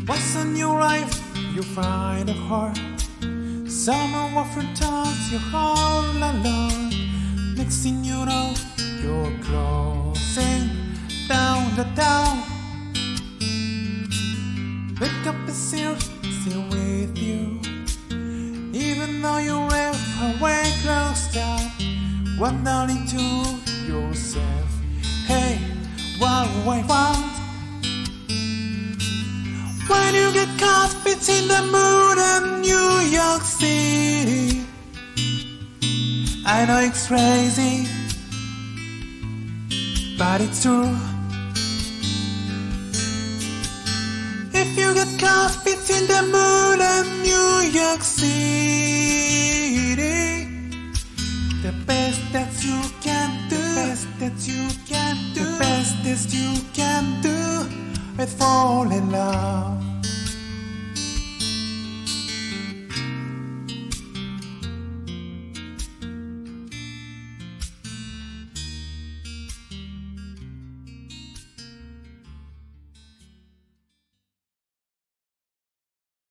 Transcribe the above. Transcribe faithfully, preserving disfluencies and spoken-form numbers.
Once in your life you find a heart, someone often turns your heart alone. Next thing you know, you're closing down the town. Wake up and still, still with you, even though you left away close down. Wondering to yourself, hey, what do I want? When you get caught between the moon and New York City, I know it's crazy, but it's true. If you get caught between the moon and New York City, the best that you can do, the best that you can do, the best that you can do is fall in love.